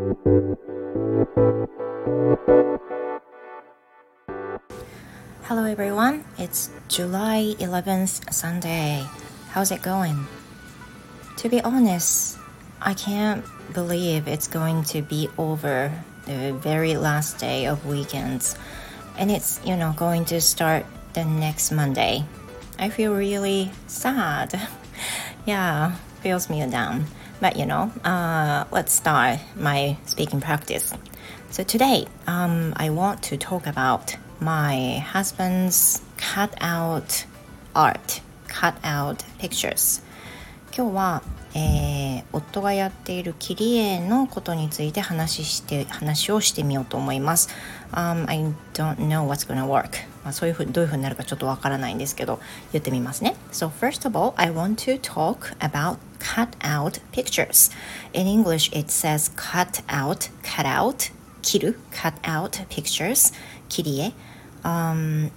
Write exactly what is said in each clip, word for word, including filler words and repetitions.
Hello everyone, it's July eleventh Sunday. How's it going? To be honest, I can't believe it's going to be over the very last day of weekends and it's, you know, going to start the next Monday. I feel really sad. Yeah, feels me down. But you know, uh, let's start my speaking practice. So today, um, I want to talk about my husband's cutout art, cutout pictures. 今日は、えー、夫がやっている切り絵のことについて話して話をしてみようと思います。Um, I don't know what's gonna work. まあ、そういうふうどういうふうになるかちょっとわからないんですけど、言ってみますね。So first of all, I want to talk about cutout pictures. In English, it says cut out, cut out, 切る cut out pictures, 切り絵。Um,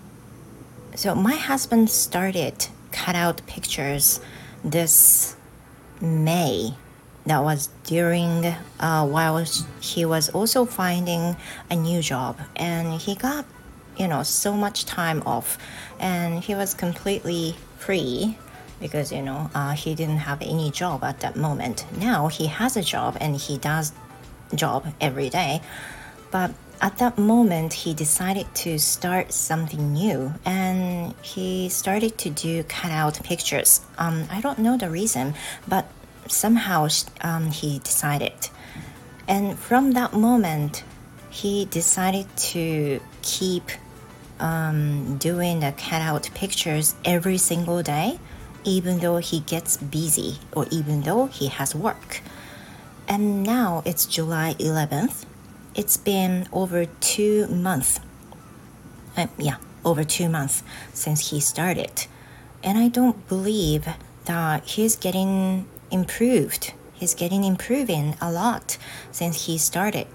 so my husband started cutout pictures this May. That was during uh, while he was also finding a new job, and he got, you know, so much time off, and he was completely free because, you know, uh, he didn't have any job at that moment. Now he has a job and he does job every day, but at that moment he decided to start something new and he started to do cutout pictures. um, I don't know the reason, but somehow um, he decided, and from that moment he decided to keep um, doing the cutout pictures every single day, even though he gets busy or even though he has work. And now it's July eleventh. It's been over two months. Uh, yeah, over two months since he started. And I don't believe that he's getting improved. He's getting improving a lot since he started.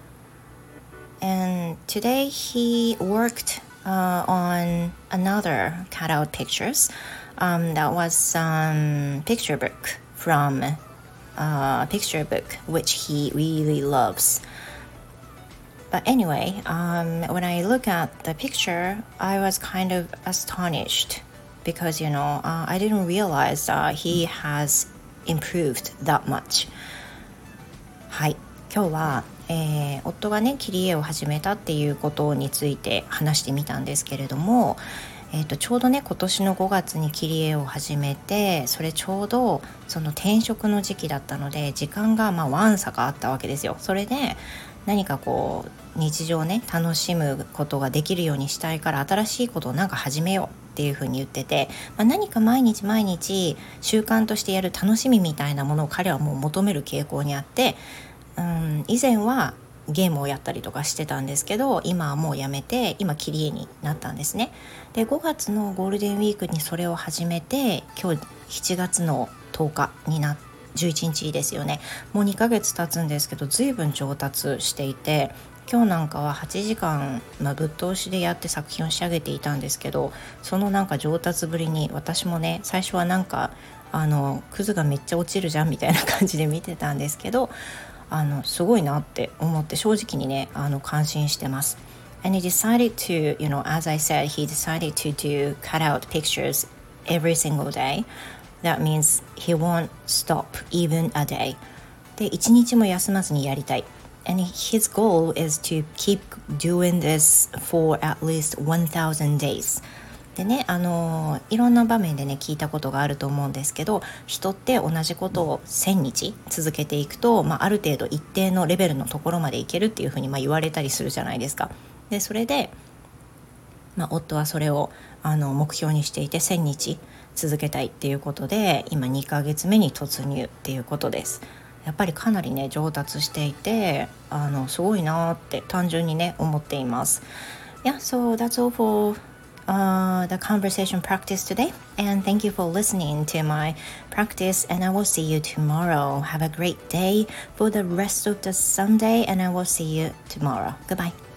And today he worked uh, on another cutout pictures. Um, that was some picture book from a picture book which he really loves. But anyway, um, when I look at the picture, I was kind of astonished because, you know, uh, I didn't realize that he has improved that much. はい、今日は、えー、夫がね、切り絵を始めたっていうことについて話してみたんですけれども、えーと、ちょうどね、今年のごがつに切り絵を始めて、それちょうどその転職の時期だったので、時間がまあわんさかあったわけですよ。それで何かこう日常ね楽しむことができるようにしたいから新しいことをなんか始めようっていうふうに言ってて、まあ、何か毎日毎日習慣としてやる楽しみみたいなものを彼はもう求める傾向にあって、うん、以前はゲームをやったりとかしてたんですけど、今はもうやめて今切り絵になったんですね。でごがつのゴールデンウィークにそれを始めて、今日しちがつのとおかになってじゅういちにちですよね。もうにかげつ経つんですけど、随分上達していて、今日なんかははちじかん、まあ、ぶっ通しでやって作品を仕上げていたんですけど、そのなんか上達ぶりに私もね、最初はなんかあのクズがめっちゃ落ちるじゃんみたいな感じで見てたんですけど、あのすごいなって思って正直にね、あの感心してます。And he decided to, you know, as I said, he decided to do cutout pictures every single day.That means he won't stop even a day. で、一日も休まずにやりたい。And his goal is to keep doing this for at least one thousand days. でね、あのいろんな場面でね聞いたことがあると思うんですけど、人って同じことをせんにち続けていくと、まあ、ある程度一定のレベルのところまでいけるっていうふうにまあ言われたりするじゃないですか。で、それで、まあ、夫はそれをあの目標にしていてせんにち続けたいっていうことで、今にかげつめに突入っていうことです。やっぱりかなりね上達していて、あのすごいなって単純にね思っています。Yeah, so that's all for uh, the conversation practice today, and thank you for listening to my practice, and I will see you tomorrow. Have a great day for the rest of the Sunday, and I will see you tomorrow. Goodbye.